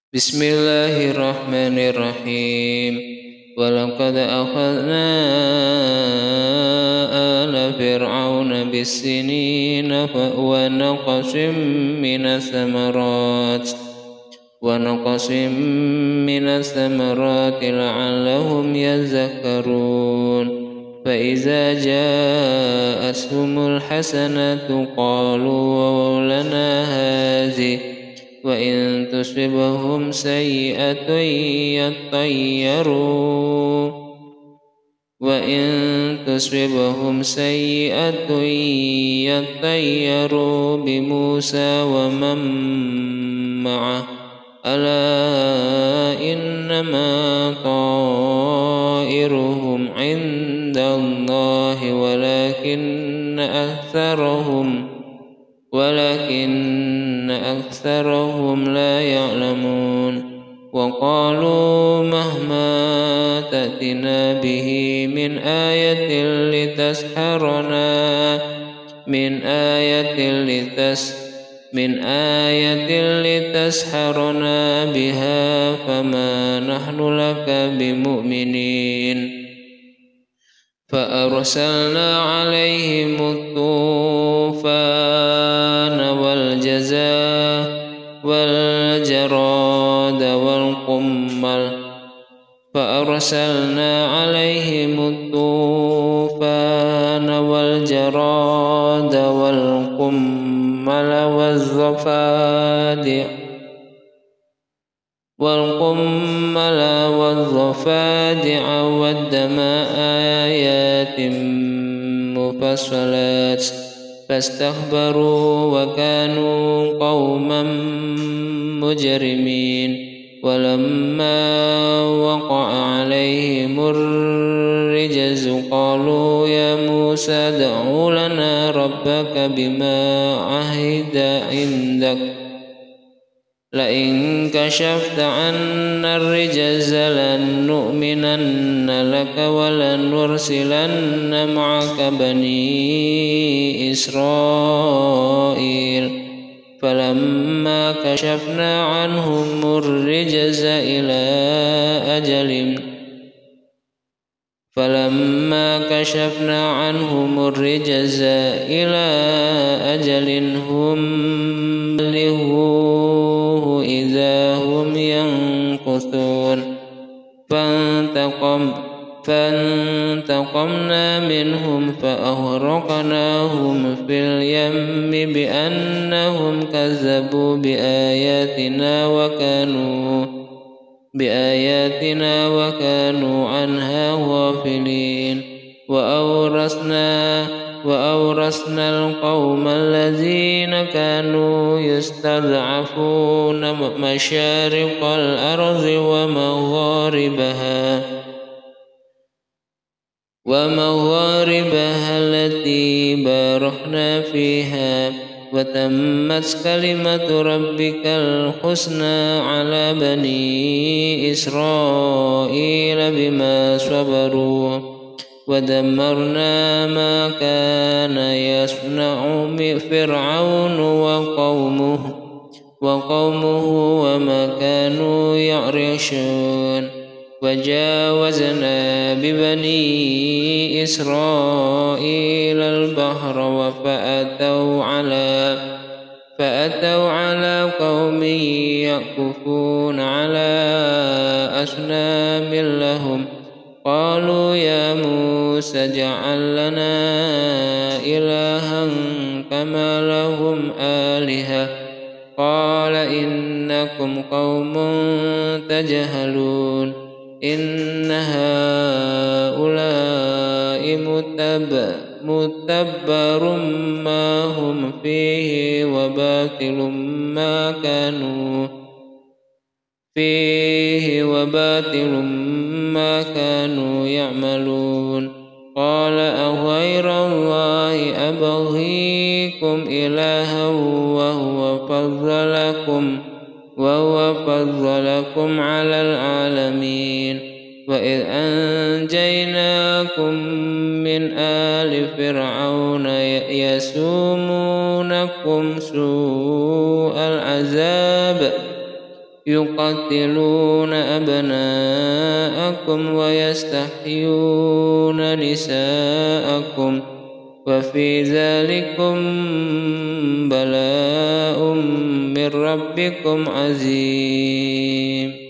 Bismillahirrahmanirrahim. Walaqad akhadna ala fir'auna bis-sinina wa naqsim minas samarati la'allahum yazakkarun. Fa iza ja'atuhumul hasanatu qalu lana hadhihi wa in tusibhum sayyi'atun yattayyaru bi Musa wa man ma'ah ala innama ta'iruhum 'indallahi walakinna aktharahum la ya'lamun. Wa qalu mahma ta'tina bihi min ayatin litasharana biha fama nahnu laka bimu'minin. Fa arsalna 'alaihimut tufana wal jarada wal qummal والضفادع والدم آيات مفصلات فاستكبروا وكانوا قوما مجرمين. ولما وقع عليهم الرجز قالوا يا موسى ادع لنا ربك بما عهد عندك لئن كشفت عنا الرجز لنؤمنن لك ولنرسلن معك بني إسرائيل. فلما كشفنا عنهم الرجز إلى أجل هم بلغوه إذا هم ينكثون. فانتقمنا منهم فأغرقناهم في اليم بأنهم كذبوا بآياتنا وكانوا عنها غافلين. وأورثنا القوم الذين كانوا يستضعفون مشارق الأرض ومغاربها التي باركنا فيها وتمت كلمة ربك الحسنى على بني إسرائيل بما صبروا ودمرنا ما كان يصنع فرعون وقومه وما كانوا يعرشون. وجاوزنا ببني إسرائيل البحر فأتوا على قوم يعكفون على أصنام لهم قالوا يا موسى اجعل لنا إلها كما لهم آلهة قال إنكم قوم تجهلون. إن هؤلاء متبر ما هم فيه وباطل ما كانوا يعملون. قال أغير الله أبغيكم إلها وهو فضلكم على العالمين. وإذ أنجيناكم من آل فرعون يسومونكم سوء العذاب يقتلون أبناءكم ويستحيون نساءكم وفي ذلكم بلاء من ربكم عظيم.